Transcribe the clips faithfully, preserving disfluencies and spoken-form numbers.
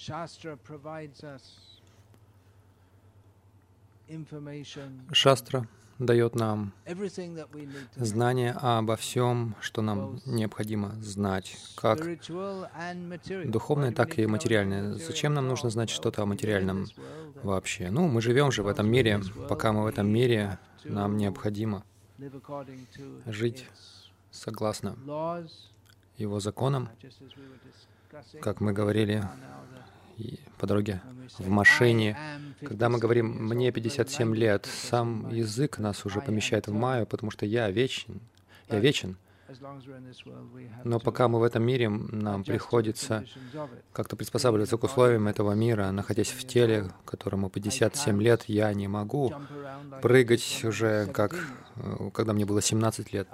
Шастра дает нам знание обо всем, что нам необходимо знать, как духовное, так и материальное. Зачем нам нужно знать что-то о материальном вообще? Ну, мы живем же в этом мире. Пока мы в этом мире, нам необходимо жить согласно его законам, как мы говорили по дороге в машине. Когда мы говорим «мне пятьдесят семь лет», сам язык нас уже помещает в майю, потому что я вечен, я вечен. Но пока мы в этом мире, нам приходится как-то приспосабливаться к условиям этого мира, находясь в теле, которому пятьдесят семь лет, я не могу прыгать уже, как когда мне было семнадцать лет.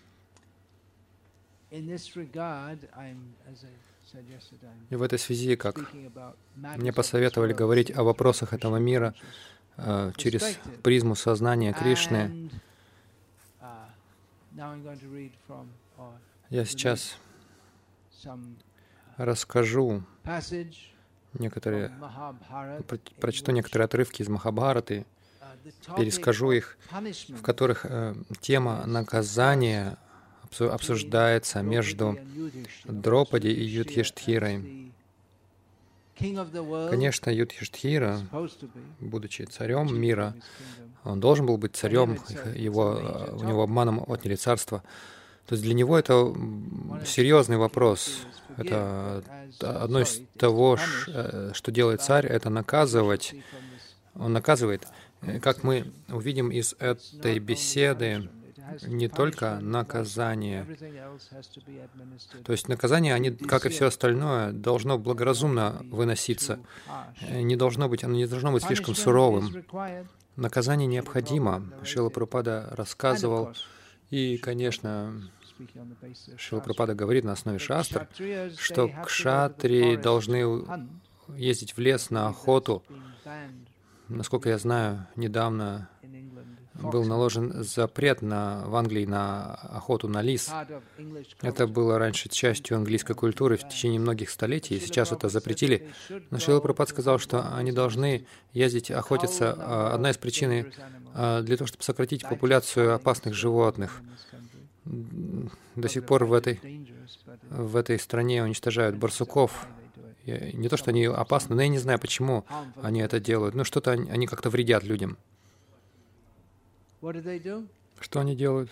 И в этой связи, как мне посоветовали говорить о вопросах этого мира э, через призму сознания Кришны, я сейчас расскажу некоторые, прочту некоторые отрывки из Махабхараты, перескажу их, в которых э, тема наказания обсуждается между Дропади и Юдхиштхирой. Конечно, Юдхиштхира, будучи царем мира, он должен был быть царем, его, у него обманом отняли царство. То есть для него это серьезный вопрос. Это одно из того, что делает царь, это наказывать. Он наказывает. Как мы увидим из этой беседы, не только наказание. То есть наказание, они, как и все остальное, должно благоразумно выноситься. Не должно быть, оно не должно быть слишком суровым. Наказание необходимо. Шрила Прабхупада рассказывал, и, конечно, Шрила Прабхупада говорит на основе шастр, что кшатрии должны ездить в лес на охоту. Насколько я знаю, недавно был наложен запрет на, в Англии на охоту на лис. Это было раньше частью английской культуры в течение многих столетий, и сейчас это запретили. Но Шрила Прабхупада сказал, что они должны ездить охотиться. Одна из причин для того, чтобы сократить популяцию опасных животных. До сих пор в этой, в этой стране уничтожают барсуков. Не то, что они опасны, но я не знаю, почему они это делают. Ну, что-то они, они как-то вредят людям. Что они делают?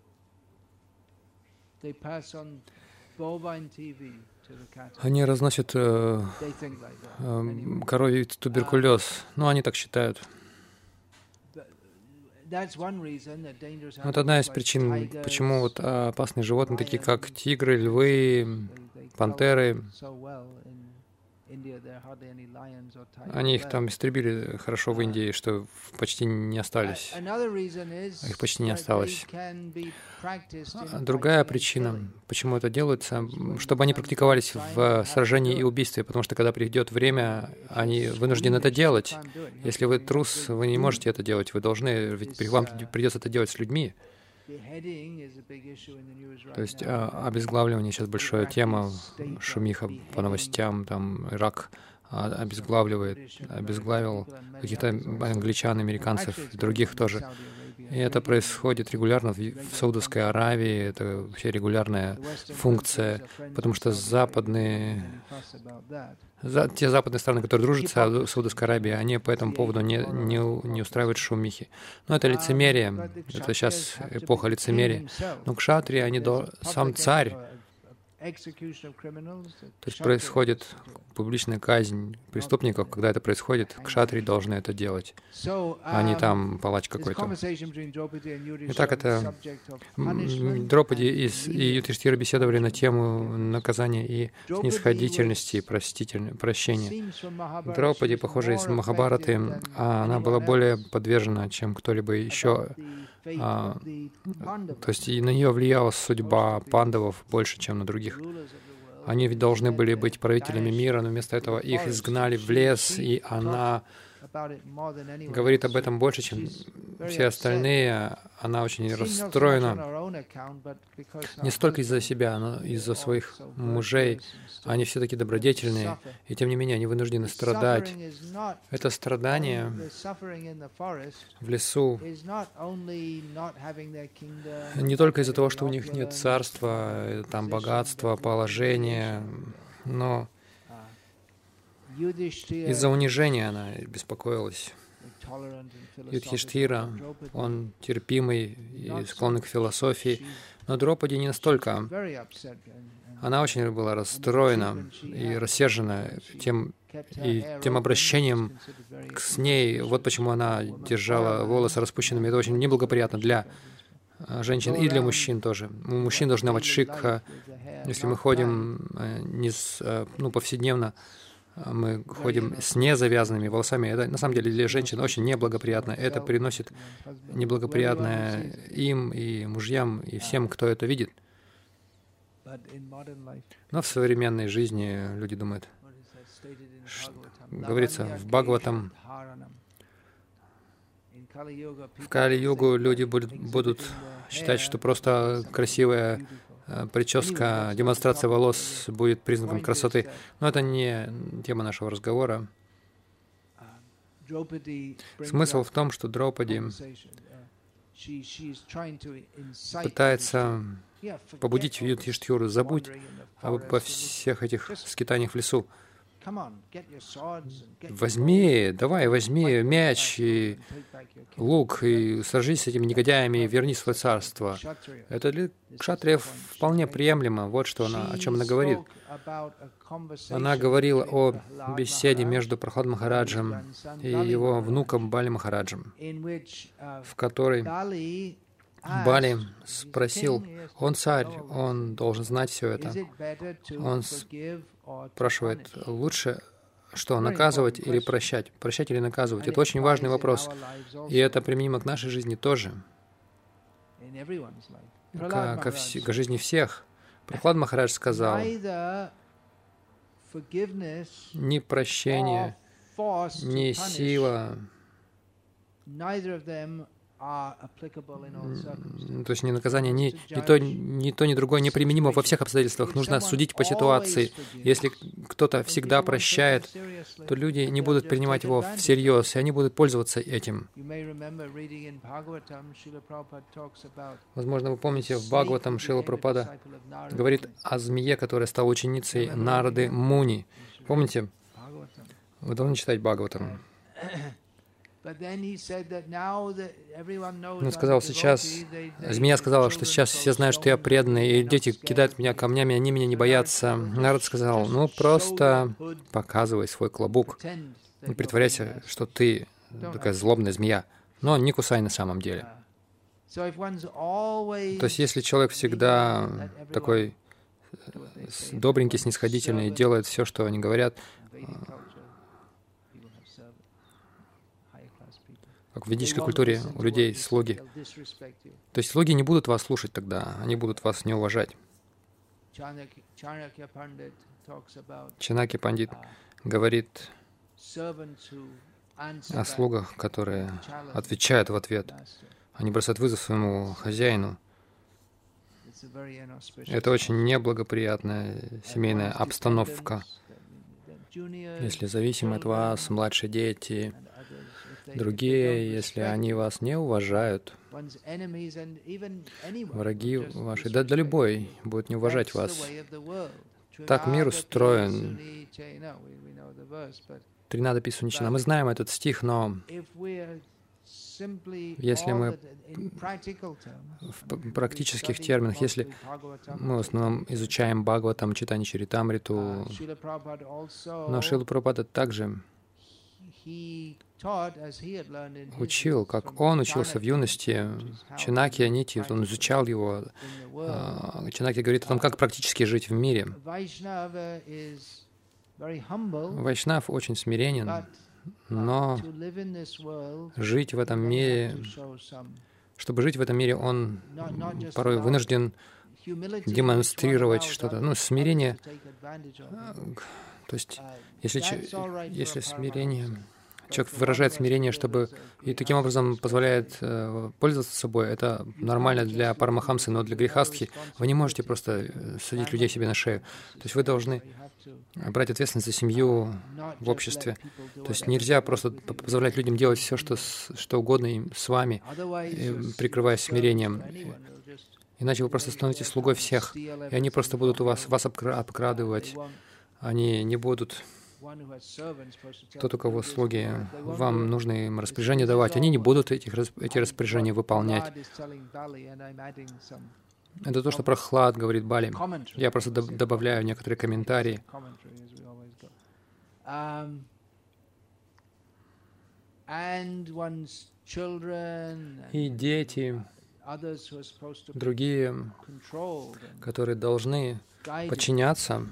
Они разносят э, э, коровий туберкулез. Ну, они так считают. Это одна из причин, почему вот опасные животные, такие как тигры, львы, пантеры, они их там истребили хорошо в Индии, что почти не остались. Их почти не осталось. Другая причина, почему это делается, чтобы они практиковались в сражении и убийстве, потому что когда придет время, они вынуждены это делать. Если вы трус, вы не можете это делать, вы должны, ведь вам придется это делать с людьми. То есть а, обезглавливание сейчас большая тема, шумиха по новостям, там Ирак обезглавливает, обезглавил каких-то англичан, американцев, других тоже. И это происходит регулярно в, в Саудовской Аравии, это вообще регулярная функция, потому что западные, за, те западные страны, которые дружат с Саудовской Аравией, они по этому поводу не, не, не устраивают шумихи. Но это лицемерие, это сейчас эпоха лицемерия. Но кшатрии, они до, сам царь, то есть происходит публичная казнь преступников, когда это происходит, кшатрии должны это делать, а не там палач какой-то. Итак, это Дропади и Юдхиштхира беседовали на тему наказания и снисходительности, проститель... прощения. Дропади, похоже, из Махабхараты, она была более подвержена, чем кто-либо еще. А, то есть и на нее влияла судьба пандавов больше, чем на других. Они ведь должны были быть правителями мира, но вместо этого их изгнали в лес, и она говорит об этом больше, чем все остальные. Она очень расстроена. Не столько из-за себя, но из-за своих мужей. Они все такие добродетельные, и тем не менее они вынуждены страдать. Это страдание в лесу не только из-за того, что у них нет царства, там богатства, положения, но из-за унижения она беспокоилась. Юдхиштхира, он терпимый и склонный к философии, но Драупади не настолько. Она очень была расстроена и рассержена тем, и тем обращением с ней. Вот почему она держала волосы распущенными. Это очень неблагоприятно для женщин и для мужчин тоже. У мужчин должна быть шикха. Если мы ходим не с, ну, повседневно, мы ходим с незавязанными волосами. Это на самом деле для женщин очень неблагоприятно. Это приносит неблагоприятное им и мужьям, и всем, кто это видит. Но в современной жизни люди думают, говорится в Бхагаватам, в Кали-югу люди будут, будут считать, что просто красивая прическа, демонстрация волос будет признаком красоты. Но это не тема нашего разговора. Смысл в том, что Драупади пытается побудить Юдхиштхиру: забудь обо всех этих скитаниях в лесу. Возьми, давай, возьми мяч и лук и сражись с этими негодяями и верни свое царство. Это для кшатриев вполне приемлемо. Вот что она, о чем она говорит. Она говорила о беседе между Прахлад Махараджем и его внуком Бали Махараджем, в которой Бали спросил: он царь, он должен знать все это. Он спрашивает: лучше что, наказывать или прощать? Прощать или наказывать? Это очень важный вопрос. И это применимо к нашей жизни тоже. К, ко вс... к жизни всех. Прахлад Махарадж сказал: ни прощение, ни сила, то есть ни наказание, ни, ни, то, ни то, ни другое неприменимо во всех обстоятельствах. Нужно судить по ситуации. Если кто-то всегда прощает, то люди не будут принимать его всерьез, и они будут пользоваться этим. Возможно, вы помните, в Бхагаватам Шрила Прабхупада говорит о змее, которая стала ученицей Нарады Муни. Помните? Вы должны читать Бхагаватам. Он сказал: сейчас, змея сказала, что сейчас все знают, что я преданный, и дети кидают меня камнями, они меня не боятся. Народ сказал: ну, просто показывай свой клобук, не притворяйся, что ты такая злобная змея, но не кусай на самом деле. То есть, если человек всегда такой добренький, снисходительный, делает все, что они говорят, как в ведической культуре у людей слуги. То есть слуги не будут вас слушать тогда, они будут вас не уважать. Чанакья Пандит говорит о слугах, которые отвечают в ответ. Они бросают вызов своему хозяину. Это очень неблагоприятная семейная обстановка. Если зависимы от вас младшие дети, другие, если они вас не уважают, враги ваши, да, да любой будет не уважать вас. Так мир устроен. Тринада Писуничана. Мы знаем этот стих, но если мы в практических терминах, если мы в основном изучаем Бхагаватам, читание Чаритамриту, но Шрила Прабхупада также учил, как он учился в юности, Чанакья Нити, он изучал его. Чанакья говорит о том, как практически жить в мире. Вайшнав очень смиренен, но жить в этом мире, чтобы жить в этом мире, он порой вынужден демонстрировать что-то. Ну, смирение, то есть, если, если смирение человек выражает смирение, чтобы и таким образом позволяет э, пользоваться собой. Это нормально для парамахамсы, но для грехастхи вы не можете просто садить людей себе на шею. То есть вы должны брать ответственность за семью в обществе. То есть нельзя просто позволять людям делать все, что, что угодно им с вами, прикрываясь смирением. Иначе вы просто становитесь слугой всех, и они просто будут у вас, вас обкрадывать. Они не будут... Тот, у кого слуги, вам нужно им распоряжения давать, они не будут этих, эти распоряжения выполнять. Это то, что Прохлад говорит Бали. Я просто добавляю некоторые комментарии. И дети, другие, которые должны подчиняться,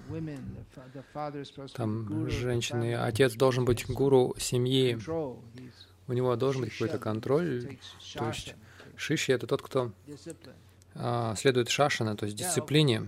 там женщины, отец должен быть гуру семьи, у него должен быть какой-то контроль, то есть шиши — это тот, кто а, следует шашана, то есть дисциплине.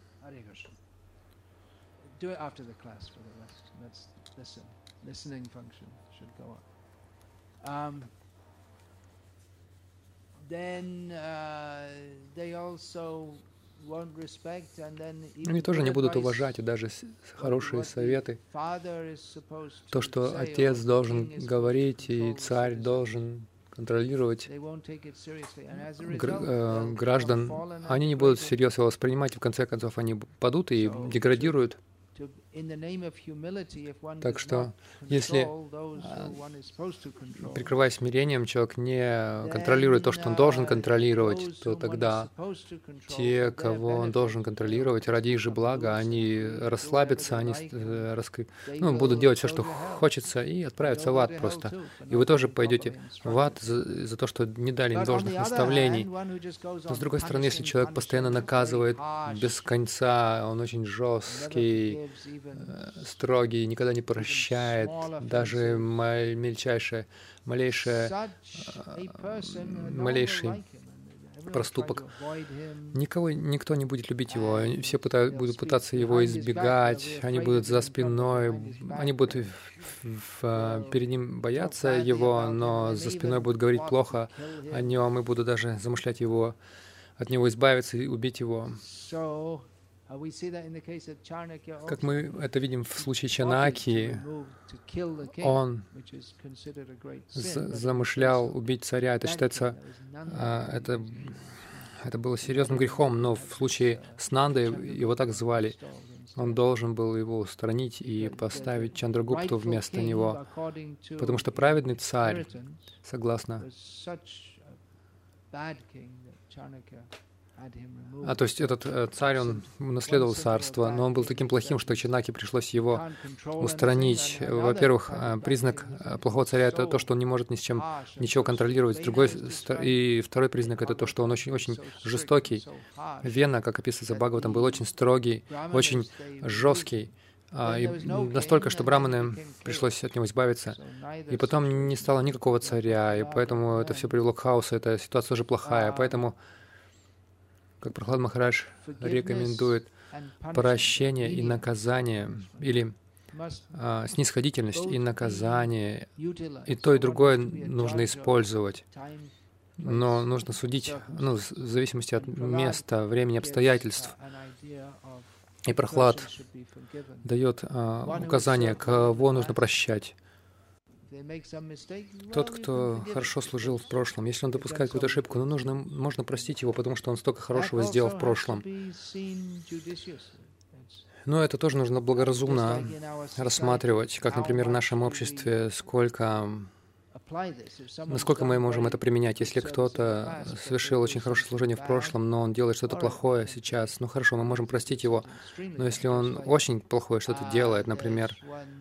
Они тоже не будут уважать и даже хорошие советы. То, что отец должен говорить и царь должен контролировать граждан, они не будут всерьез его воспринимать, и в конце концов они падут и деградируют. Так что, если, прикрываясь смирением, человек не контролирует то, что он должен контролировать, то тогда те, кого он должен контролировать, ради их же блага, они расслабятся, они раскры... ну, будут делать все, что хочется, и отправятся в ад просто. И вы тоже пойдете в ад за, за то, что не дали им должных наставлений. Но, с другой стороны, если человек постоянно наказывает без конца, он очень жесткий, строгий, никогда не прощает, даже мельчайшее, малейшее, малейший проступок. Никого, никто не будет любить его, все пытают, будут пытаться его избегать, они будут за спиной, они будут в, в, перед ним бояться его, но за спиной будут говорить плохо о нем и будут даже замышлять его, от него избавиться и убить его. Как мы это видим в случае Чанаки, он замышлял убить царя. Это считается, это, это было серьезным грехом, но в случае с Нандой его так звали. Он должен был его устранить и поставить Чандрагупту вместо него, потому что праведный царь, согласно... А то есть этот э, царь, он наследовал царство, но он был таким плохим, что Чанаке пришлось его устранить. Во-первых, э, признак плохого царя — это то, что он не может ни с чем ничего контролировать. Другой, и второй признак — это то, что он очень-очень жестокий. Вена, как описывается Бхагаватам, был очень строгий, очень жесткий. И настолько, что браманы пришлось от него избавиться. И потом не стало никакого царя, и поэтому это все привело к хаосу, эта ситуация уже плохая. Поэтому, как Прохлад Махарадж рекомендует, прощение и наказание, или а, снисходительность и наказание, и то, и другое нужно использовать. Но нужно судить, ну, в зависимости от места, времени, обстоятельств. И Прохлад дает а, указание, кого нужно прощать. Тот, кто хорошо служил в прошлом, если он допускает какую-то ошибку, ну, нужно, можно простить его, потому что он столько хорошего сделал в прошлом. Но это тоже нужно благоразумно рассматривать, как, например, в нашем обществе, сколько, насколько мы можем это применять. Если кто-то совершил очень хорошее служение в прошлом, но он делает что-то плохое сейчас, ну хорошо, мы можем простить его. Но если он очень плохое что-то делает, например,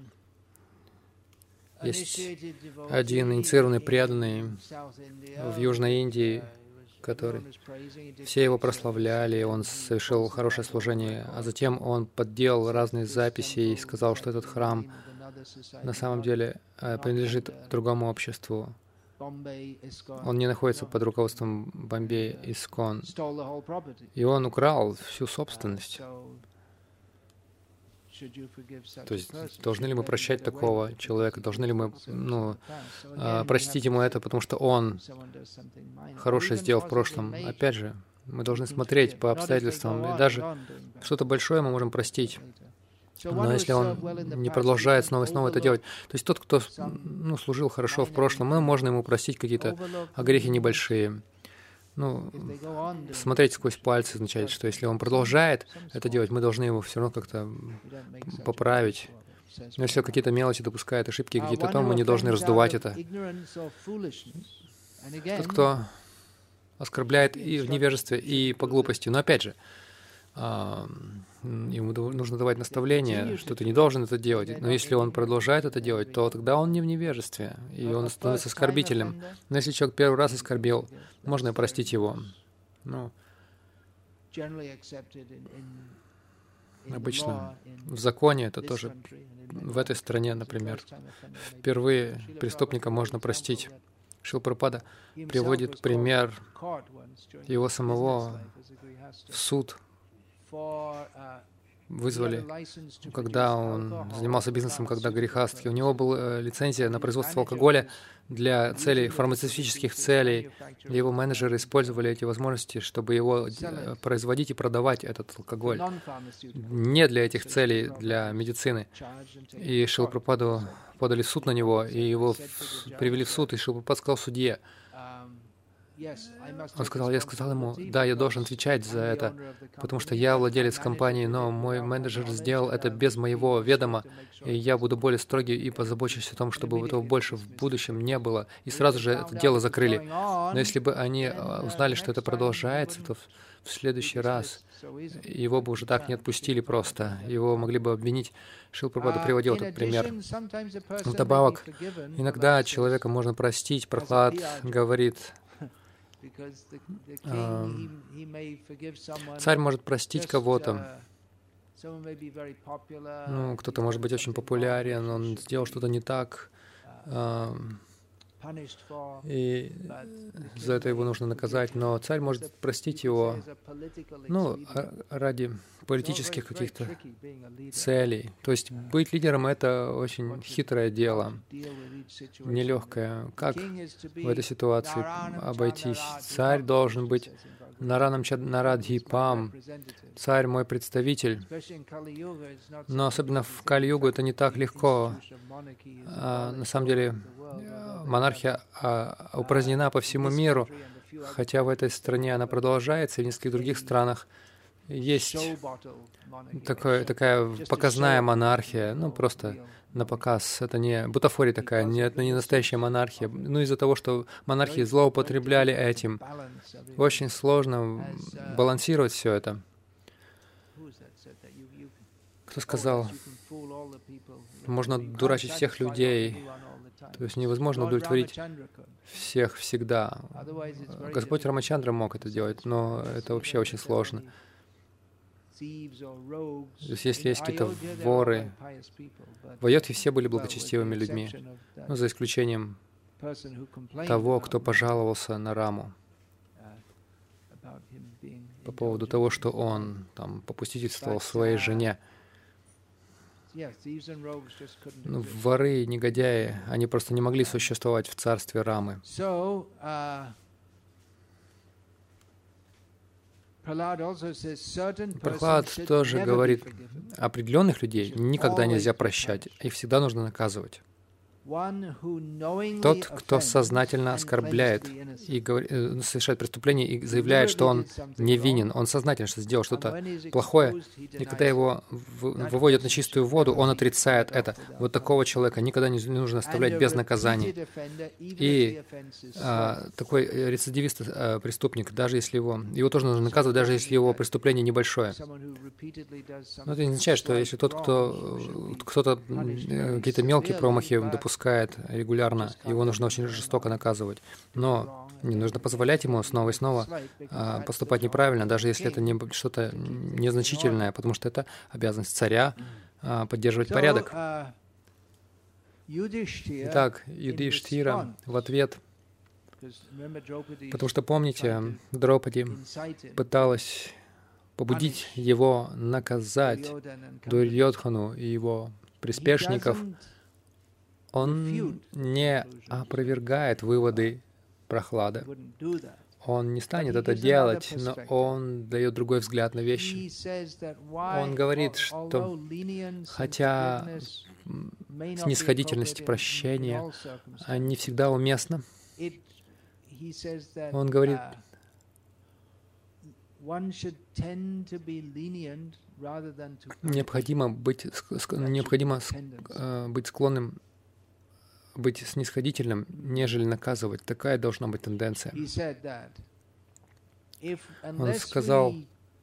есть один инициированный преданный в Южной Индии, который все его прославляли, он совершил хорошее служение, а затем он подделал разные записи и сказал, что этот храм на самом деле принадлежит другому обществу. Он не находится под руководством Бомбей Искон. И он украл всю собственность. То есть должны ли мы прощать такого человека? Должны ли мы ну, простить ему это, потому что он хорошее сделал в прошлом? Опять же, мы должны смотреть по обстоятельствам. И даже что-то большое мы можем простить. Но если он не продолжает снова и снова это делать, то есть тот, кто ну, служил хорошо в прошлом, мы можно ему простить какие-то грехи небольшие. Ну, смотреть сквозь пальцы означает, что если он продолжает это делать, мы должны его все равно как-то поправить. Но если какие-то мелочи допускает, ошибки какие-то, то мы не должны раздувать это. Тот, кто оскорбляет и в невежестве, и по глупости. Но опять же, ему нужно давать наставление, что ты не должен это делать. Но если он продолжает это делать, то тогда он не в невежестве, и он становится оскорбителем. Но если человек первый раз оскорбил, можно и простить его. Ну, обычно в законе это тоже, в этой стране, например, впервые преступника можно простить. Шрила Прабхупада приводит пример его самого в суд. Вызвали, когда он занимался бизнесом, когда грехастки. У него была лицензия на производство алкоголя для целей, фармацевтических целей. И его менеджеры использовали эти возможности, чтобы его производить и продавать этот алкоголь. Не для этих целей, для медицины. И Шрила Прабхупаду подали в суд на него, и его привели в суд, и Шрила Прабхупада сказал судье, он сказал, я сказал ему, да, я должен отвечать за это, потому что я владелец компании, но мой менеджер сделал это без моего ведома, и я буду более строгий и позабочусь о том, чтобы этого больше в будущем не было. И сразу же это дело закрыли. Но если бы они узнали, что это продолжается, то в следующий раз его бы уже так не отпустили просто. Его могли бы обвинить. Шрила Прабхупада приводил этот пример. Вдобавок, иногда человека можно простить. Прохлад говорит, царь может простить кого-то. Ну, кто-то может быть очень популярен, он сделал что-то не так, и за это его нужно наказать, но царь может простить его, ну, ради политических каких-то целей. То есть быть лидером — это очень хитрое дело, нелегкое. Как в этой ситуации обойтись? Царь должен быть Наранам Нарадхипам, царь мой представитель. Но особенно в Кали-югу это не так легко. А, на самом деле монархия а, упразднена по всему миру, хотя в этой стране она продолжается, и в нескольких других странах есть такое, такая показная монархия, ну просто на показ. Это не бутафория такая, не, это не настоящая монархия. Ну из-за того, что монархии злоупотребляли этим, очень сложно балансировать все это. Кто сказал, можно дурачить всех людей, то есть невозможно удовлетворить всех всегда. Господь Рамачандра мог это делать, но это вообще очень сложно. То есть если есть какие-то воры, в Айодхе все были благочестивыми людьми, ну, за исключением того, кто пожаловался на Раму по поводу того, что он там попустительствовал своей жене. Ну, воры и негодяи, они просто не могли существовать в царстве Рамы. Прохлад тоже говорит, определенных людей никогда нельзя прощать, их всегда нужно наказывать. Тот, кто сознательно оскорбляет и говорит, совершает преступление и заявляет, что он невинен, он сознательно что сделал что-то плохое, и когда его выводят на чистую воду, он отрицает это. Вот такого человека никогда не нужно оставлять без наказаний. И а, такой рецидивист, а, преступник, даже если его, его тоже нужно наказывать, даже если его преступление небольшое. Но это не означает, что если тот, кто кто-то какие-то мелкие промахи допускает регулярно, его нужно очень жестоко наказывать. Но не нужно позволять ему снова и снова а, поступать неправильно, даже если это не что-то незначительное, потому что это обязанность царя а, поддерживать порядок. Итак, Юдхиштхира в ответ, потому что, помните, Драупади пыталась побудить его наказать Дурьодхану и его приспешников, он не опровергает выводы Прохлады. Он не станет это делать, но он дает другой взгляд на вещи. Он говорит, что хотя снисходительность и прощение не всегда уместны, он говорит, необходимо быть, необходимо быть склонным, быть снисходительным, нежели наказывать. Такая должна быть тенденция. Он сказал,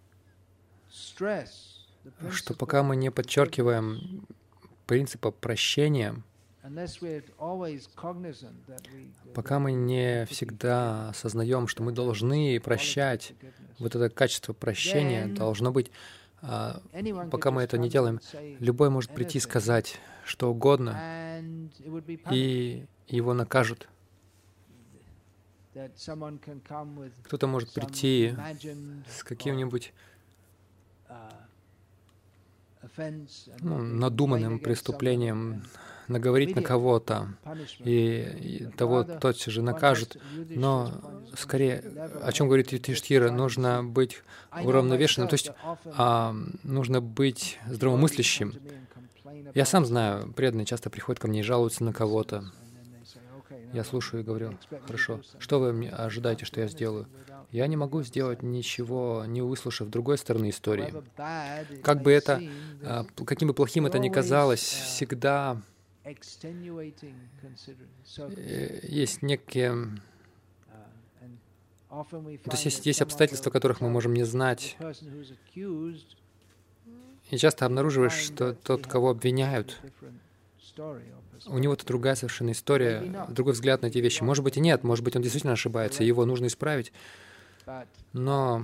что пока мы не подчеркиваем принципа прощения, пока мы не всегда осознаем, что мы должны прощать, вот это качество прощения должно быть, пока мы это не делаем, любой может прийти и сказать что угодно, и его накажут. Кто-то может прийти с каким-нибудь ну, надуманным преступлением, наговорить на кого-то, и, и того тотчас же накажут. Но скорее, о чем говорит Юдхиштхира, нужно быть уравновешенным, то есть а, нужно быть здравомыслящим. Я сам знаю, преданные часто приходят ко мне и жалуются на кого-то. Я слушаю и говорю, хорошо, что вы ожидаете, что я сделаю? Я не могу сделать ничего, не выслушав другой стороны истории. Как бы это, каким бы плохим это ни казалось, всегда есть некие... То есть есть, есть обстоятельства, которых мы можем не знать. И часто обнаруживаешь, что тот, кого обвиняют, у него-то другая совершенно история, другой взгляд на эти вещи. Может быть и нет, может быть он действительно ошибается, его нужно исправить. Но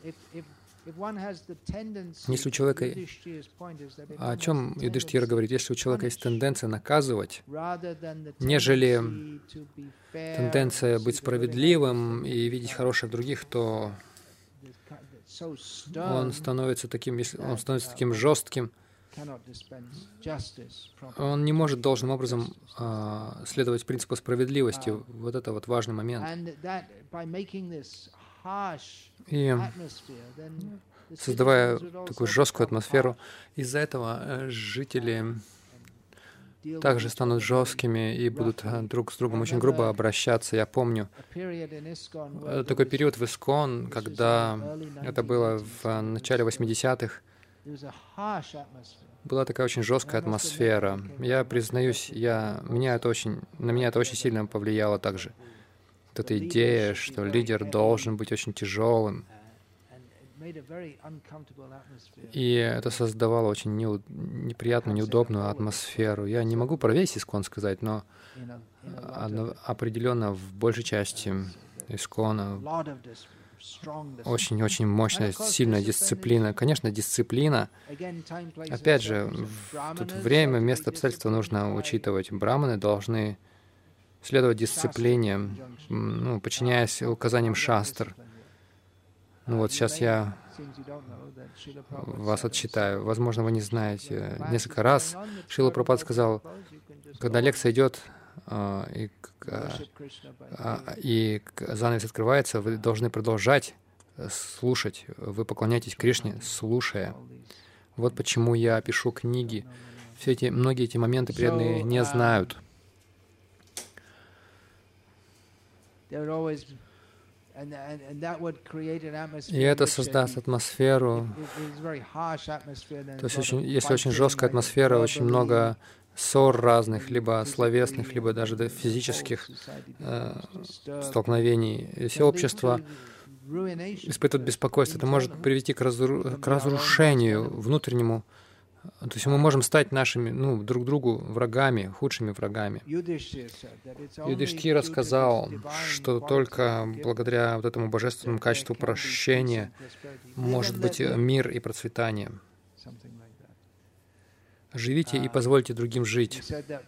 если у человека... О чем Юдхиштхира говорит? Если у человека есть тенденция наказывать, нежели тенденция быть справедливым и видеть хорошее в других, то он становится таким, если он становится таким жестким, он не может должным образом а, следовать принципу справедливости. Вот это вот важный момент. И создавая такую жесткую атмосферу, из-за этого жители также станут жесткими и будут друг с другом очень грубо обращаться. Я помню такой период в Искон, когда это было в начале восьмидесятых, была такая очень жесткая атмосфера. Я признаюсь, я, меня это очень, на меня это очень сильно повлияло также. Вот эта идея, что лидер должен быть очень тяжелым. И это создавало очень неу, неприятную, неудобную атмосферу. Я не могу про весь Искон сказать, но одно, определенно в большей части Искона очень-очень мощная, сильная дисциплина. Конечно, дисциплина. Опять же, в, тут время, место, обстоятельства нужно учитывать. Браманы должны следовать дисциплине, ну, подчиняясь указаниям шастр. Ну вот сейчас я вас отчитаю. Возможно, вы не знаете. Несколько раз Шрила Прабхупада сказал, когда лекция идет, и, и занавес открывается, вы должны продолжать слушать. Вы поклоняетесь Кришне, слушая. Вот почему я пишу книги. Все эти, многие эти моменты преданные не знают. И это создаст атмосферу. То есть, очень, если очень жесткая атмосфера, очень много ссор разных, либо словесных, либо даже до физических э, столкновений. И все общество испытывает беспокойство. Это может привести к, разру... к разрушению внутреннему. То есть мы можем стать нашими, ну, друг другу врагами, худшими врагами. Юдхиштхира сказал, что только благодаря вот этому божественному качеству прощения может быть мир и процветание. Живите и позвольте другим жить.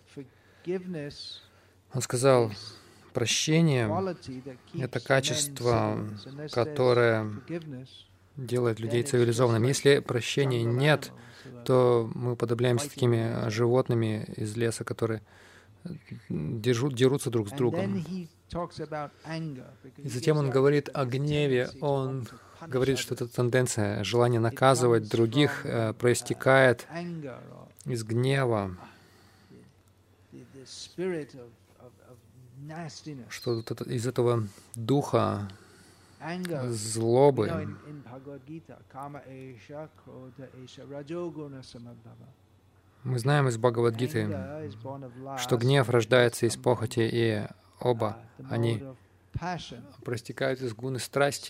Он сказал, прощение — это качество, которое делает людей цивилизованными. Если прощения нет, то мы уподобляемся такими животными из леса, которые держут, дерутся друг с другом. И затем он говорит о гневе. Он говорит, что эта тенденция, желание наказывать других, э, проистекает из гнева, что вот это, из этого духа злобы. Мы знаем из Бхагавад-гиты, что гнев рождается из похоти, и оба они проистекают из гуны страсти.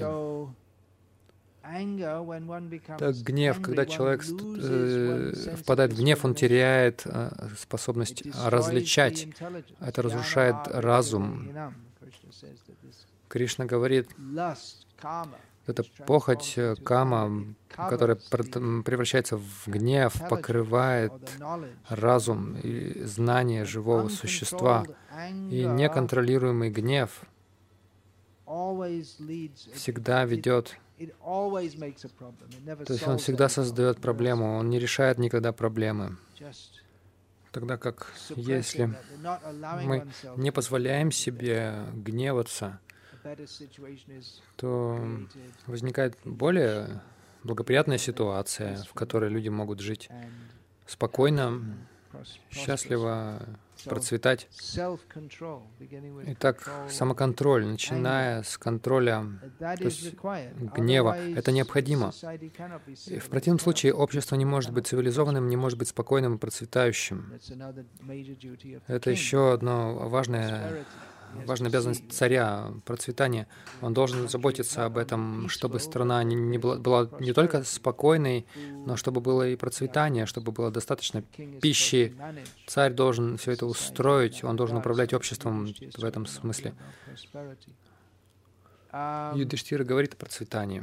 Так гнев, когда человек э, впадает в гнев, он теряет э, способность различать. Это разрушает разум. Кришна говорит, это похоть, кама, которая превращается в гнев, покрывает разум и знание живого существа. И неконтролируемый гнев всегда ведет, то есть он всегда создает проблему, он не решает никогда проблемы. Тогда как если мы не позволяем себе гневаться, то возникает более благоприятная ситуация, в которой люди могут жить спокойно, счастливо, процветать. Итак, самоконтроль, начиная с контроля, то есть гнева, это необходимо. И в противном случае общество не может быть цивилизованным, не может быть спокойным и процветающим. Это еще одно важное Важная обязанность царя — процветание. Он должен заботиться об этом, чтобы страна не, не была, была не только спокойной, но чтобы было и процветание, чтобы было достаточно пищи. Царь должен все это устроить, он должен управлять обществом в этом смысле. Юдхиштхира говорит о процветании.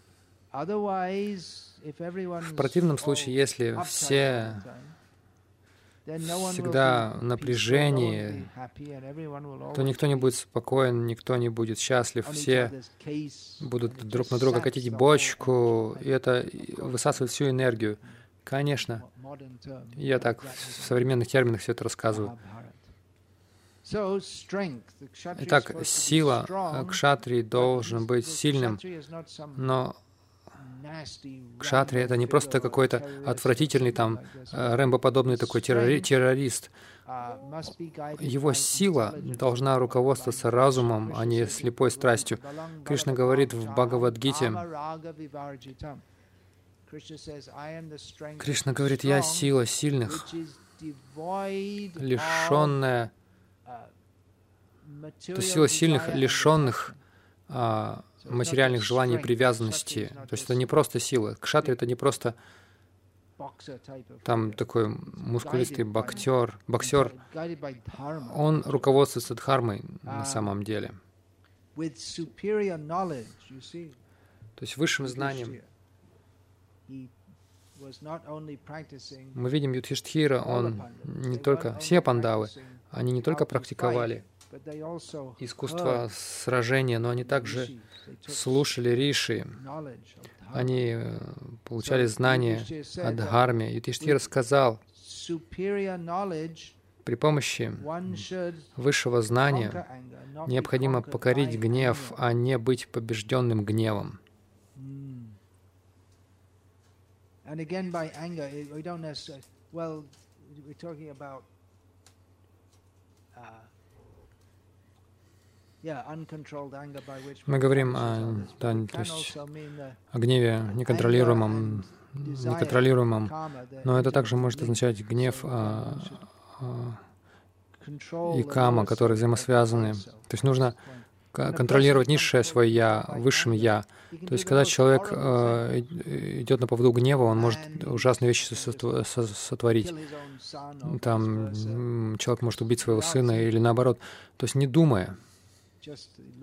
В противном случае, если все всегда в напряжении, то никто не будет спокоен, никто не будет счастлив, все будут друг на друга катить бочку, и это высасывает всю энергию. Конечно, я так в современных терминах все это рассказываю. Итак, сила кшатрии должен быть сильным, но кшатри — это не просто какой-то отвратительный, там, Рэмбо-подобный такой террори- террорист. Его сила должна руководствоваться разумом, а не слепой страстью. Кришна говорит в Бхагавад-гите, Кришна говорит, «Я сила сильных, лишенная...» То есть сила сильных, лишенных а, материальных желаний и привязанности. То есть это не просто сила. Кшатри — это не просто там такой мускулистый боксер, боксер. Он руководствуется дхармой на самом деле. То есть высшим знанием. Мы видим Юдхиштхира, он не только... Все пандавы, они не только практиковали искусство сражения, но они также слушали риши. Они получали знания о дхарме. Юдхиштхира сказал, при помощи высшего знания необходимо покорить гнев, а не быть побежденным гневом. Мы говорим о, да, то есть о гневе неконтролируемом, неконтролируемом, но это также может означать гнев а, а, и кама, которые взаимосвязаны. То есть нужно контролировать низшее свое «я», высшим «я». То есть когда человек э, идет на поводу гнева, он может ужасные вещи сотворить. Там человек может убить своего сына или наоборот. То есть не думая. То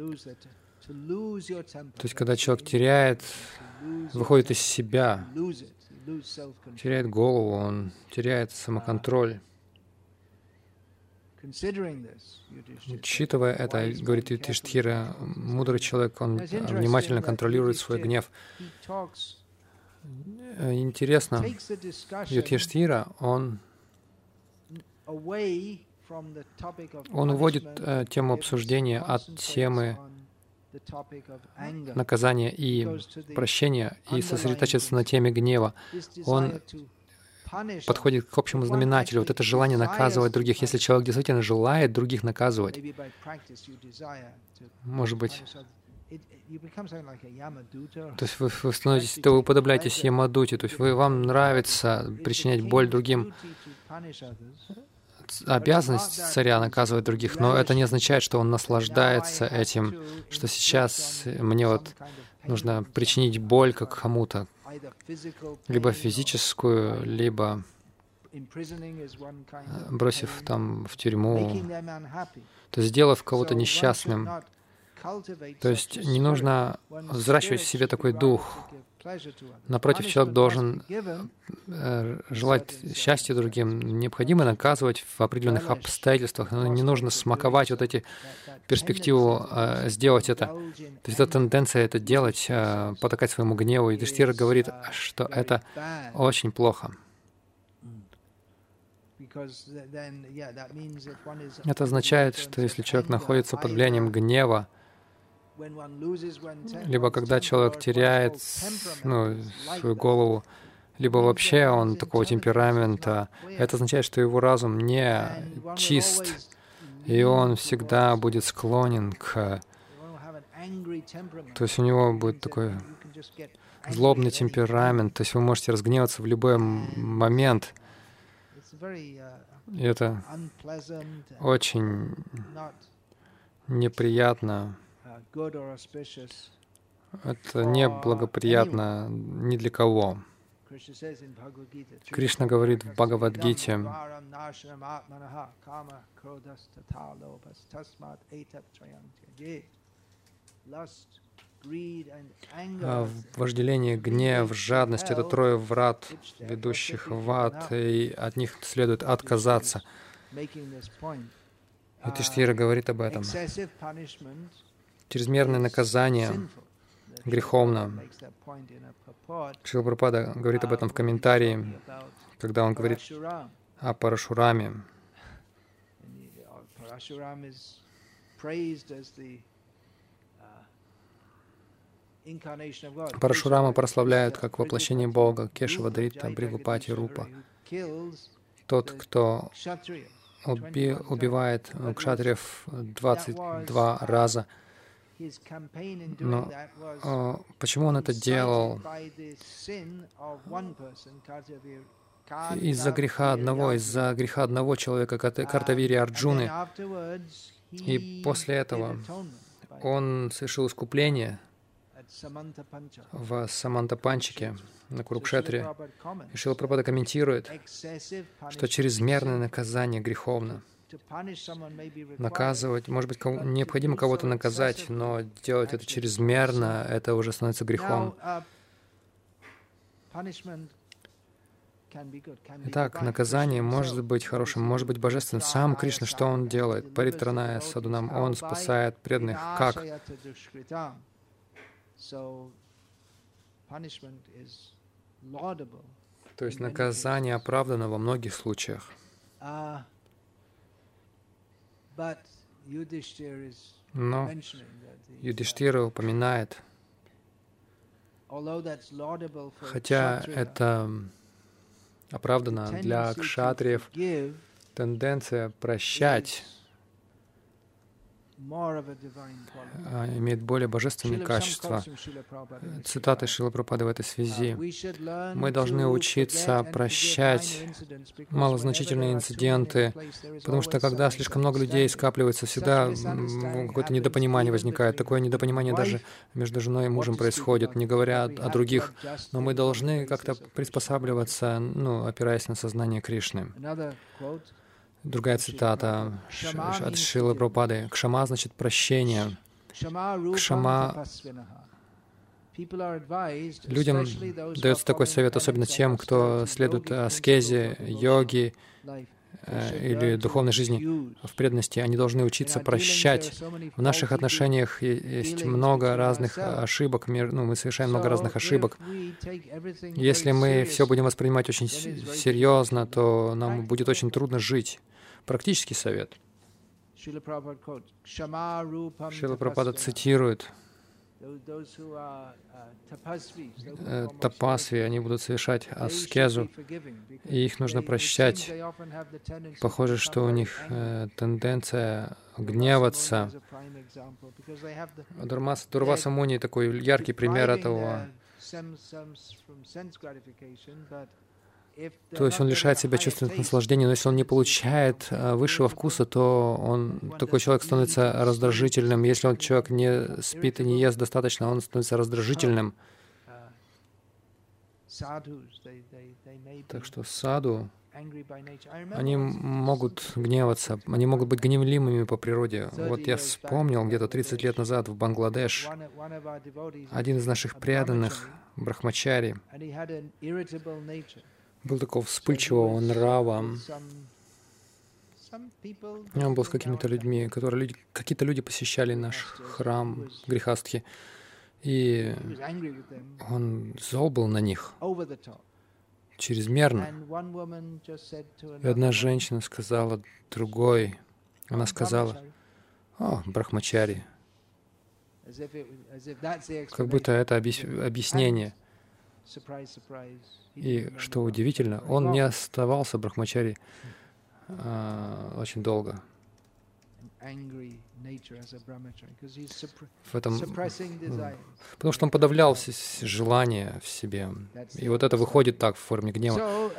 есть когда человек теряет, выходит из себя, теряет голову, он теряет самоконтроль. Учитывая это, говорит Юдхиштхира, мудрый человек, он внимательно контролирует свой гнев. Интересно, Юдхиштхира, он, он уводит э, тему обсуждения от темы наказания и прощения и сосредотачивается на теме гнева. Он подходит к общему знаменателю. Вот это желание наказывать других. Если человек действительно желает других наказывать, может быть, то есть вы, вы становитесь, то вы уподобляетесь Ямадуте, то есть вы, вам нравится причинять боль другим. Обязанность царя наказывать других, но это не означает, что он наслаждается этим, что сейчас мне вот нужно причинить боль как кому-то, либо физическую, либо бросив там в тюрьму, то есть сделав кого-то несчастным. То есть не нужно взращивать в себе такой дух. Напротив, человек должен э, желать счастья другим. Необходимо наказывать в определенных обстоятельствах, но не нужно смаковать вот эти перспективу э, сделать это. То есть эта тенденция это делать, э, потакать своему гневу. И Юдхиштхира говорит, что это очень плохо. Это означает, что если человек находится под влиянием гнева, либо когда человек теряет ну, свою голову, либо вообще он такого темперамента, это означает, что его разум не чист, и он всегда будет склонен к... То есть у него будет такой злобный темперамент, то есть вы можете разгневаться в любой момент. И это очень неприятно. Это не благоприятно ни для кого. Кришна говорит в Бхагавад-гите, вожделение, гнев, жадность — это трое врат, ведущих в ад, и от них следует отказаться. Юдхиштхира говорит об этом. Чрезмерное наказание греховно. Шрила Прабхупада говорит об этом в комментарии, когда он говорит о Парашураме. Парашурама прославляют как воплощение Бога, Кешава, Дрита, Бригупати, Рупа. Тот, кто уби, убивает кшатриев двадцать два раза. Но э, почему он это делал? Из-за греха одного, из-за греха одного человека, Картавири Арджуны. И после этого он совершил искупление в Самантапанчике на Курукшетре. И Шрила Прабхупада комментирует, что чрезмерное наказание греховно. Наказывать, может быть, кого, необходимо кого-то наказать, но делать это чрезмерно, это уже становится грехом. Итак, наказание может быть хорошим, может быть божественным. Сам Кришна, что Он делает? Паритраная садунам, Он спасает преданных. Как? То есть наказание оправдано во многих случаях. Но Юдхиштхира упоминает, хотя это оправдано для кшатриев, тенденция прощать имеет более божественные качества. Цитаты Шрилы Прабхупады в этой связи. Мы должны учиться прощать малозначительные инциденты, потому что когда слишком много людей скапливается, всегда какое-то недопонимание возникает. Такое недопонимание даже между женой и мужем происходит, не говоря о других. Но мы должны как-то приспосабливаться, ну, опираясь на сознание Кришны. Другая цитата от Шрилы Прабхупады. Кшама значит прощение. Кшама. Людям дается такой совет, особенно тем, кто следует аскезе, йоге, или духовной жизни в преданности, они должны учиться прощать. В наших отношениях есть много разных ошибок, ну, мы совершаем много разных ошибок. Если мы все будем воспринимать очень серьезно, то нам будет очень трудно жить. Практический совет. Шрила Прабхупада цитирует: тапасви, они будут совершать аскезу, и их нужно прощать. Похоже, что у них э, тенденция гневаться. Дурмас, Дурваса Муни такой яркий пример этого. То есть он лишает себя чувственных наслаждений, но если он не получает а, высшего вкуса, то он, такой человек становится раздражительным. Если он человек не спит и не ест достаточно, он становится раздражительным. Так что саду, они могут гневаться, они могут быть гневливыми по природе. Вот я вспомнил, где-то тридцать лет назад в Бангладеш один из наших преданных, брахмачари, был такого вспыльчивого нрава. Он был с какими-то людьми, которые люди, какие-то люди посещали наш храм Грихастхи, и он зол был на них чрезмерно. И одна женщина сказала другой, она сказала: «О, брахмачари», как будто это объяснение. И, что удивительно, он не оставался брахмачари а, очень долго. В этом, потому что он подавлял желания в себе. И вот это выходит так в форме гнева.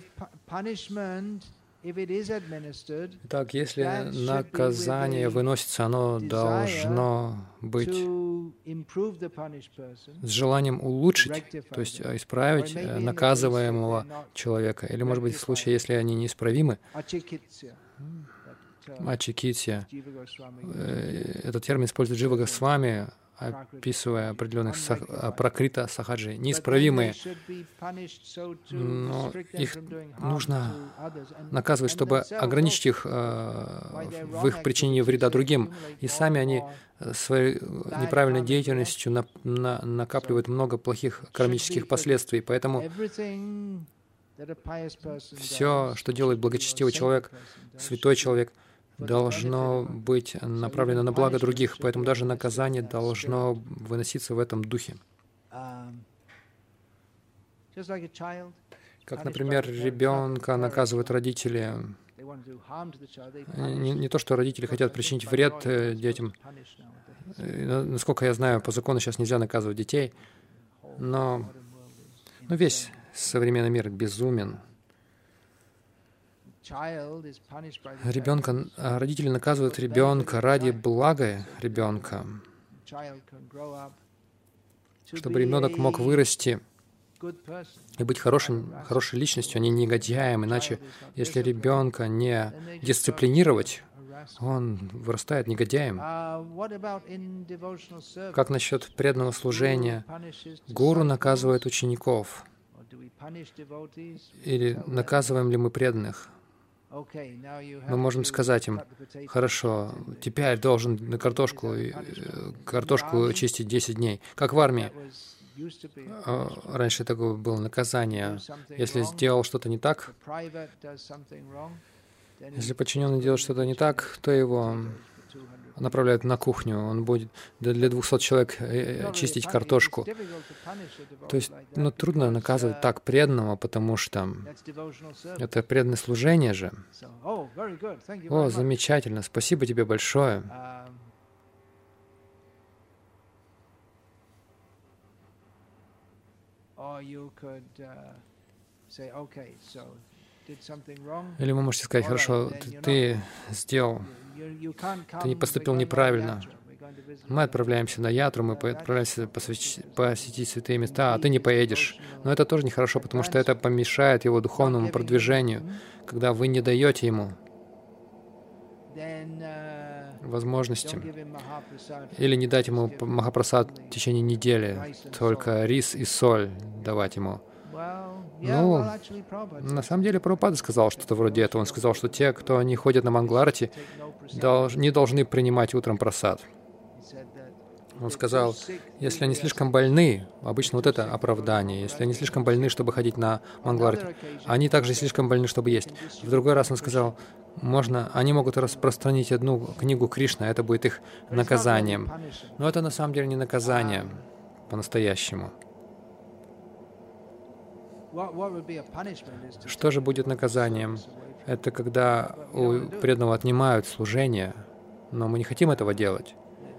Итак, если наказание выносится, оно должно быть с желанием улучшить, то есть исправить наказываемого человека. Или, может быть, в случае, если они неисправимы, ачикитсия. Этот термин использует Джива Госвами, описывая определенных сах, пракрита сахаджи, неисправимые. Но их нужно наказывать, чтобы ограничить их э, в их причинении вреда другим. И сами они своей неправильной деятельностью на, на, накапливают много плохих кармических последствий. Поэтому все, что делает благочестивый человек, святой человек, должно быть направлено на благо других, поэтому даже наказание должно выноситься в этом духе. Как, например, ребенка наказывают родители. Не, не то, что родители хотят причинить вред детям. Насколько я знаю, по закону сейчас нельзя наказывать детей, но, но весь современный мир безумен. Ребенка, родители наказывают ребенка ради блага ребенка, чтобы ребенок мог вырасти и быть хорошим, хорошей личностью, а не негодяем. Иначе, если ребенка не дисциплинировать, он вырастает негодяем. Как насчет преданного служения? Гуру наказывает учеников. Или наказываем ли мы преданных? Мы можем сказать им: хорошо, теперь должен на картошку, картошку чистить десять дней. Как в армии. Раньше такое было наказание. Если сделал что-то не так, если подчиненный делает что-то не так, то его направляют на кухню, он будет для двухсот человек чистить картошку. То есть, ну, трудно наказывать так преданного, потому что это преданное служение же. О, замечательно, спасибо тебе большое. Или вы можете сказать: хорошо, ты, ты сделал, ты не поступил неправильно. Мы отправляемся на ятру, мы отправляемся посвящ... посетить святые места, а ты не поедешь. Но это тоже нехорошо, потому что это помешает его духовному продвижению, когда вы не даете ему возможности. Или не дать ему махапрасад в течение недели, только рис и соль давать ему. Ну, на самом деле, Прабхупада сказал что-то вроде этого. Он сказал, что те, кто не ходят на Мангаларати, не должны принимать утром прасад. Он сказал, если они слишком больны, обычно вот это оправдание, если они слишком больны, чтобы ходить на Мангаларати, они также слишком больны, чтобы есть. В другой раз он сказал, можно, они могут распространить одну книгу Кришны, а это будет их наказанием. Но это на самом деле не наказание по-настоящему. Что же будет наказанием? Это когда у преданного отнимают служение, но мы не хотим этого делать.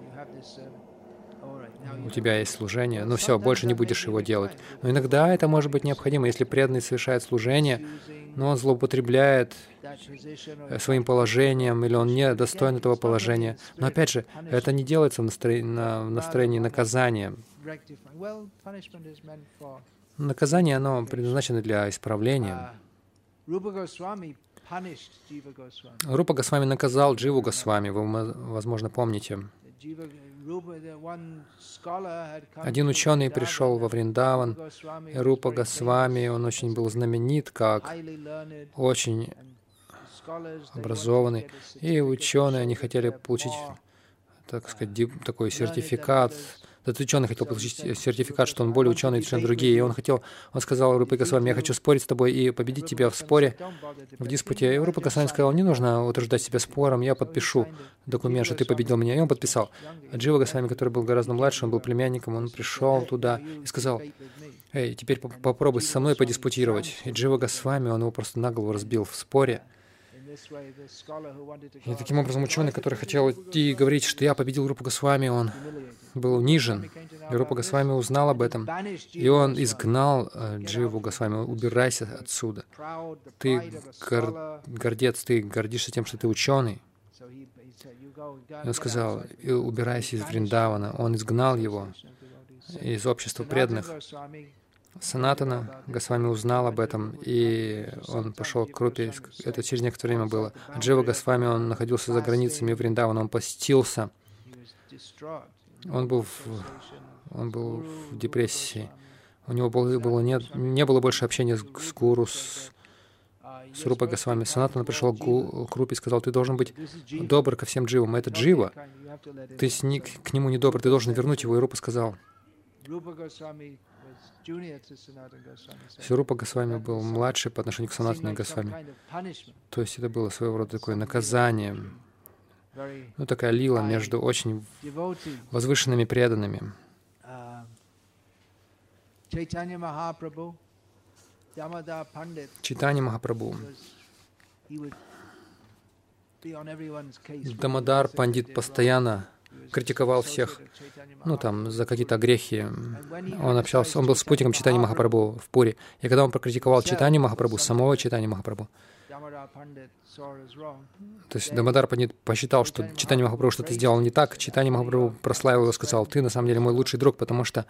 У тебя есть служение, ну все, больше не будешь его делать. Но иногда это может быть необходимо, если преданный совершает служение, но он злоупотребляет своим положением, или он не достоин этого положения. Но опять же, это не делается в настроении, в настроении наказания. Наказание, оно предназначено для исправления. Рупа Госвами наказал Дживу Госвами, вы, возможно, помните. Один ученый пришел во Вриндаван, и Рупа Госвами, он очень был знаменит, как очень образованный. И ученые, они хотели получить, так сказать, такой сертификат. Этот ученый хотел получить сертификат, что он более ученый, чем другие. И он хотел, он сказал Рупе Госвами, я хочу спорить с тобой и победить тебя в споре, в диспуте. И Рупа Госвами сказал, не нужно утруждать себя спором, я подпишу документ, что ты победил меня. И он подписал. А Джива Госвами, который был гораздо младше, он был племянником, он пришел туда и сказал, эй, теперь попробуй со мной подиспутировать. И Джива Госвами, он его просто на голову разбил в споре. И таким образом ученый, который хотел идти и говорить, что я победил Рупу Госвами, он был унижен. И Рупа Госвами узнал об этом. И он изгнал Дживу Госвами, убирайся отсюда. Ты гор... гордец, ты гордишься тем, что ты ученый. И он сказал, убирайся из Вриндавана. Он изгнал его из общества преданных. Санатана Госвами узнал об этом, и он пошел к Рупе. Это через некоторое время было. А Джива Госвами, он находился за границами Вриндавана, он постился. Он был в, он был в депрессии. У него было, было нет, не было больше общения с, с гуру, с, с Рупой Госвами. Санатана пришел к, гу, к Рупе и сказал, ты должен быть добр ко всем дживам. Это джива. Ты с, ни, к нему не добр, ты должен вернуть его. И Рупа сказал, Рупа Госвами был младший по отношению к Санатане Госвами. То есть это было своего рода такое наказание. Ну, такая лила между очень возвышенными преданными. Чайтанья Махапрабху. Дамодар Пандит постоянно критиковал всех, ну, там, за какие-то грехи. Он общался, он был спутником Чайтаньи Махапрабху в Пури. И когда он прокритиковал Чайтанью Махапрабху, самого Чайтаньи Махапрабху, то есть Дамодар Пандит посчитал, что Чайтанья Махапрабху что-то сделал не так, Чайтанья Махапрабху прославил его и сказал, ты на самом деле мой лучший друг, потому что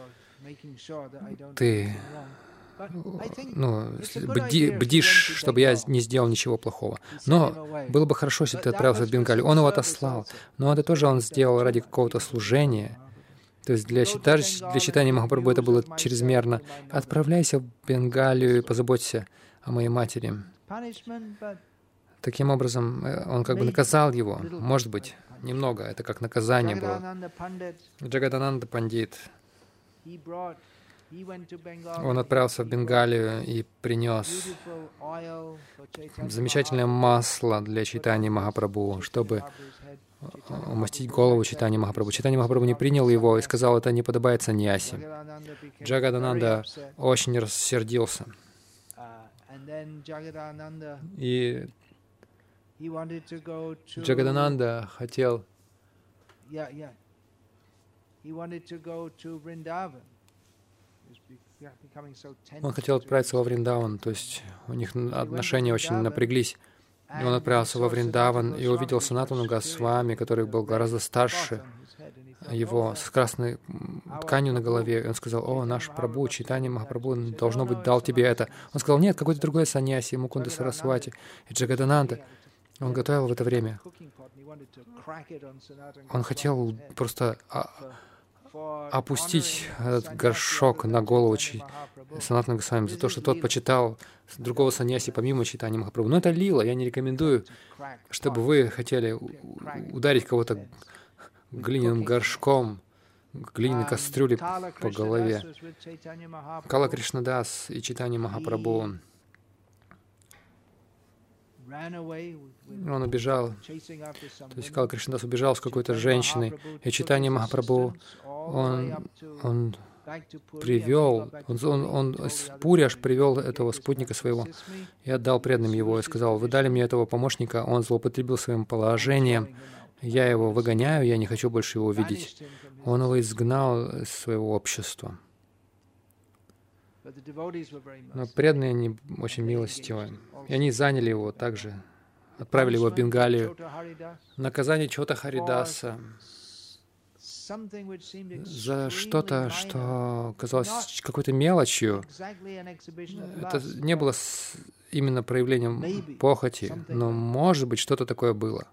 ты ну, бди, бдишь, чтобы я не сделал ничего плохого. Но было бы хорошо, если ты отправился в Бенгалию. Он его отослал, но это тоже он сделал ради какого-то служения. То есть для, для Чайтаньи Махапрабху это было чрезмерно. Отправляйся в Бенгалию и позаботься о моей матери. Таким образом, он как бы наказал его. Может быть, немного. Это как наказание было. Джагадананда Пандит, он отправился в Бенгалию и принес замечательное масло для Чайтаньи Махапрабху, чтобы умастить голову Чайтаньи Махапрабху. Чайтанья Махапрабху не принял его и сказал, это не подобает саньяси. Джагадананда очень рассердился. И Джагадананда хотел Он хотел отправиться во Вриндаван, то есть у них отношения очень напряглись. И он отправился во Вриндаван и увидел Санатану Госвами, который был гораздо старше его, с красной тканью на голове. И он сказал, о, наш Прабху, Чайтанья Махапрабху, должно быть, дал тебе это. Он сказал, нет, какой-то другой саньяси, Мукунда Сарасвати. И Джагадананда, он готовил в это время. Он хотел просто опустить этот горшок на голову Санатана Госвами за то, что тот почитал другого саньяси помимо Чайтаньи Махапрабху. Но это лила, я не рекомендую, чтобы вы хотели ударить кого-то глиняным горшком, глиняной кастрюлей по голове. Кала Кришнадас и Чайтанья Махапрабху, он убежал, то есть Кала Кришнадас убежал с какой-то женщиной, и Чайтанья Махапрабху, он, он привел, он, он, он с Пури аж привел этого спутника своего и отдал преданным его, и сказал: вы дали мне этого помощника, он злоупотребил своим положением, я его выгоняю, я не хочу больше его видеть. Он его изгнал из своего общества. Но преданные, они очень милостивы. И они заняли его также, отправили его в Бенгалию. Наказание Чота Харидаса за что-то, что казалось какой-то мелочью. Это не было именно проявлением похоти, но, может быть, что-то такое было.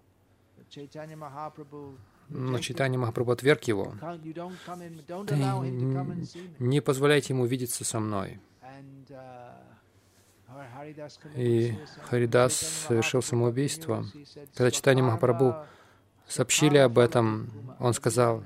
Но Чайтанья Махапрабху отверг его. Ты не позволяйте ему видеться со мной. И Харидас совершил самоубийство. Когда Чайтанья Махапрабху сообщили об этом, он сказал: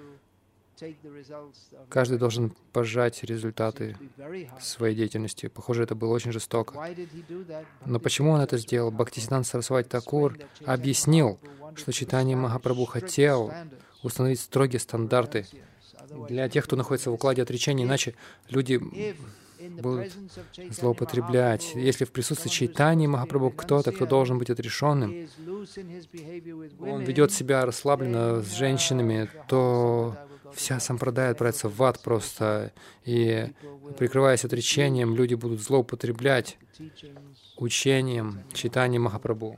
каждый должен пожать результаты своей деятельности. Похоже, это было очень жестоко. Но почему он это сделал? Бхактисиданта Сарасвати Такур объяснил, что Чайтанья Махапрабху хотел установить строгие стандарты для тех, кто находится в укладе отречения, иначе люди будут злоупотреблять. Если в присутствии Чайтаньи Махапрабху кто-то, кто должен быть отрешенным, он ведет себя расслабленно с женщинами, то вся сампрадая отправится в ад просто, и, прикрываясь отречением, люди будут злоупотреблять учением Чайтаньи Махапрабху.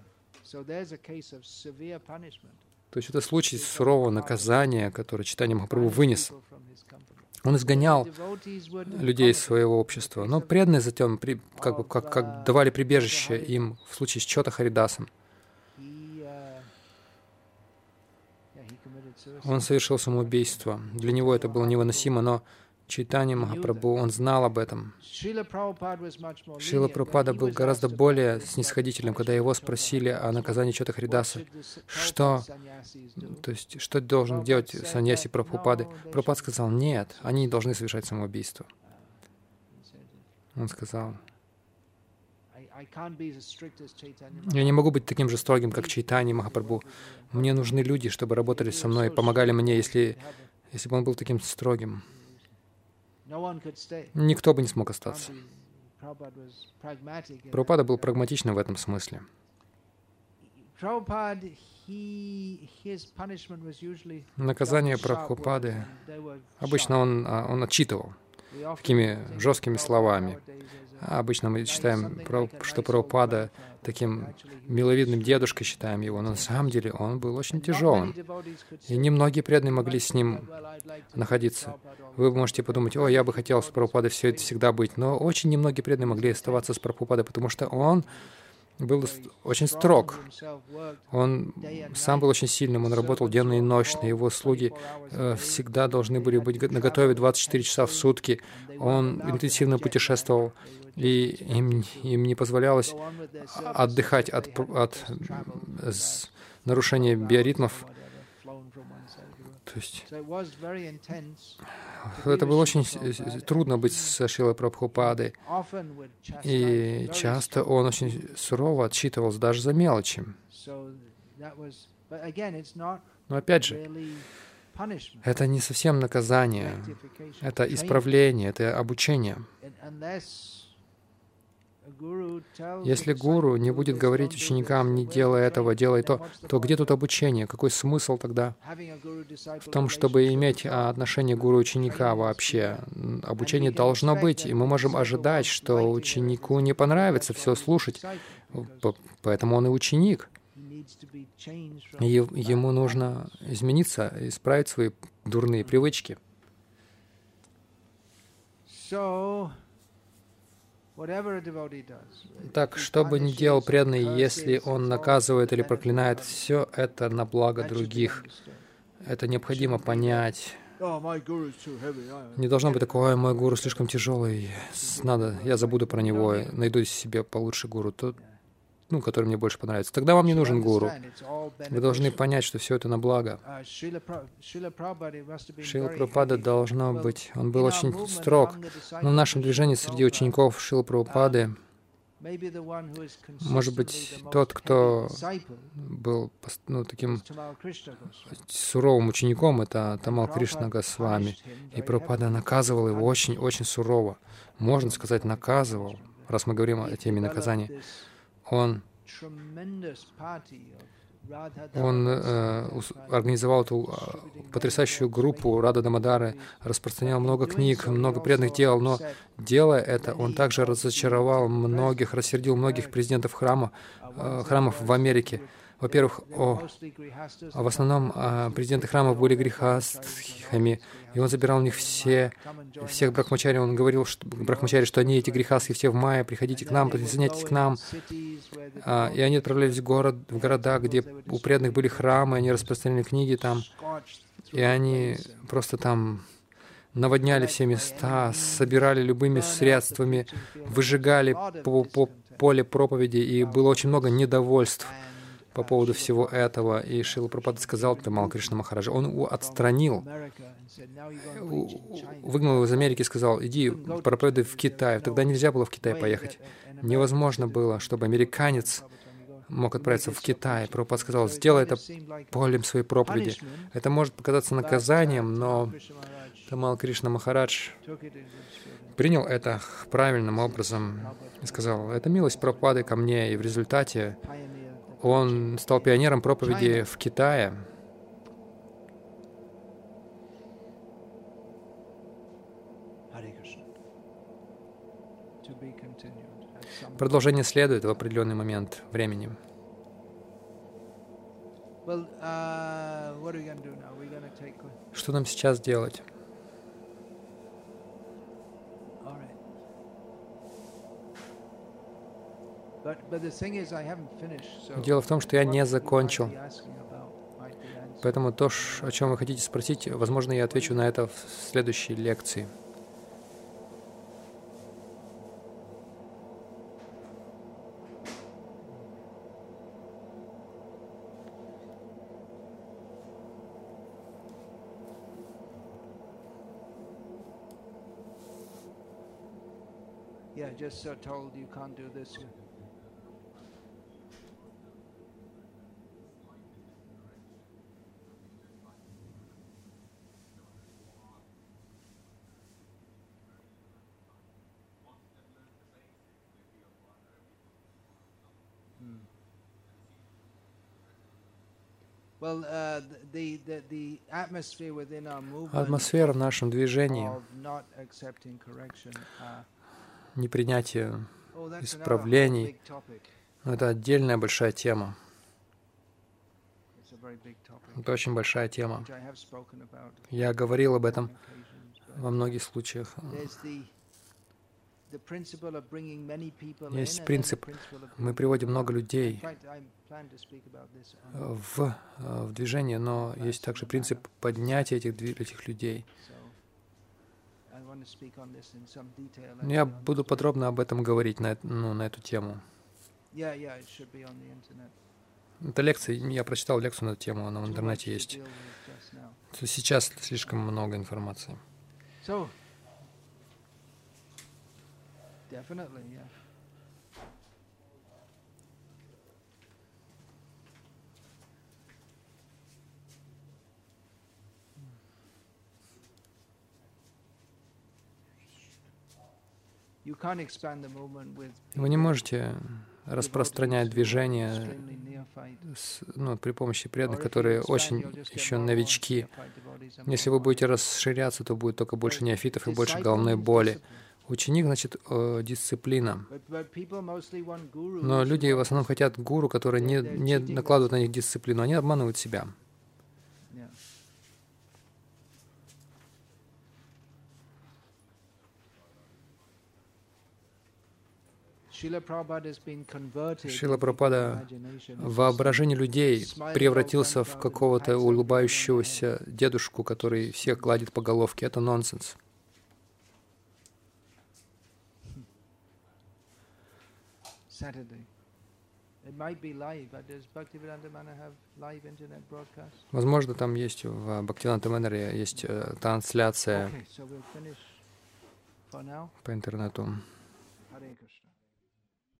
То есть это случай сурового наказания, которое Чайтанья Махапрабху вынес. Он изгонял людей из своего общества, но преданные затем при, как, бы, как, как давали прибежище им в случае с Чота Харидасом. Он совершил самоубийство. Для него это было невыносимо, но Чайтанья Махапрабху, он знал об этом. Шрила Прабхупада был гораздо более снисходительным, когда его спросили о наказании Чота Харидаса, что, то есть, что должен делать саньяси Прабхупады. Прабхупад сказал: нет, они не должны совершать самоубийство. Он сказал: я не могу быть таким же строгим, как Чайтанья Махапрабху. Мне нужны люди, чтобы работали со мной, помогали мне, если, если бы он был таким строгим. Никто бы не смог остаться. Прабхупада был прагматичным в этом смысле. Наказание Прабхупады, обычно он, он отчитывал такими жесткими словами. Обычно мы считаем, что Прабхупада таким миловидным дедушкой считаем его, но на самом деле он был очень тяжелым. И немногие преданные могли с ним находиться. Вы можете подумать: о, я бы хотел с Прабхупадой все это всегда быть, но очень немногие преданные могли оставаться с Прабхупадой, потому что он был очень строг. Он сам был очень сильным, он работал денно и ночно, его слуги э, всегда должны были быть наготове двадцать четыре часа в сутки. Он интенсивно путешествовал, и им, им не позволялось отдыхать от, от с, нарушения биоритмов. То есть это было очень трудно быть со Шрилой Прабхупадой. И часто он очень сурово отчитывался даже за мелочи. Но опять же, это не совсем наказание, это исправление, это обучение. Если гуру не будет говорить ученикам: не делай этого, делай то, то где тут обучение? Какой смысл тогда в том, чтобы иметь отношение гуру-ученика вообще? Обучение должно быть, и мы можем ожидать, что ученику не понравится все слушать, поэтому он и ученик. И ему нужно измениться, исправить свои дурные привычки. Так, что бы ни делал преданный, если он наказывает или проклинает, все это на благо других. Это необходимо понять. Не должно быть такого: «Ой, мой гуру слишком тяжелый, надо, я забуду про него, найду себе получше гуру, тот, ну, который мне больше понравится». Тогда вам не нужен гуру. Вы должны понять, что все это на благо. Шрила Прабхупада должно быть, он был очень строг, но в нашем движении среди учеников Шрилы Прабхупады, может быть, тот, кто был, ну, таким суровым учеником, это Тамал Кришна Госвами. И Прабхупада наказывал его очень-очень сурово. Можно сказать, наказывал, раз мы говорим о теме наказания. Он, он э, организовал эту э, потрясающую группу Рада Дамодары, распространял много книг, много преданных дел, но, делая это, он также разочаровал многих, рассердил многих президентов храма, э, храмов в Америке. Во-первых, о, а в основном а, президенты храмов были грехастхами, и он забирал у них все, всех брахмачари. Он говорил что, брахмачари, что они эти грехастхи все в мае, приходите к нам, присоединяйтесь к нам. А, и они отправлялись в, город, в города, где у преданных были храмы, они распространяли книги там, и они просто там наводняли все места, собирали любыми средствами, выжигали по, по поле проповеди, и было очень много недовольств по поводу всего этого. И Шрила Прабхупада сказал Тамал Кришна Махараджа, он его отстранил, выгнал его из Америки и сказал: иди проповедуй в Китай. Тогда нельзя было в Китай поехать. Невозможно было, чтобы американец мог отправиться в Китай. Прабхупада сказал: сделай это полем своей проповеди. Это может показаться наказанием, но Тамал Кришна Махарадж принял это правильным образом и сказал: это милость Прабхупады ко мне, и в результате он стал пионером проповеди в Китае. Продолжение следует в определенный момент времени. Что нам сейчас делать? Дело в том, что я не закончил. Поэтому то, о чем вы хотите спросить, возможно, я отвечу на это в следующей лекции. Yeah, just uh, told you can't do this. Атмосфера в нашем движении, непринятие исправлений, это отдельная большая тема. Это очень большая тема. Я говорил об этом во многих случаях. Есть принцип, мы приводим много людей в, в движение, но есть также принцип поднятия этих, этих людей. Я буду подробно об этом говорить, на, ну, на эту тему. Это лекция, я прочитал лекцию на эту тему, она в интернете есть. Сейчас слишком много информации. Definitely, yeah. Вы не можете распространять движение с, ну, при помощи преданных, которые очень еще новички. Если вы будете расширяться, то будет только больше неофитов и больше головной боли. Ученик, значит, э, дисциплина. Но люди в основном хотят гуру, которые не, не накладывают на них дисциплину. Они обманывают себя. Шрила Прабхупада в воображении людей превратился в какого-то улыбающегося дедушку, который всех гладит по головке. Это нонсенс. Возможно, там есть в Бхактивиданта Манере есть э, трансляция по интернету.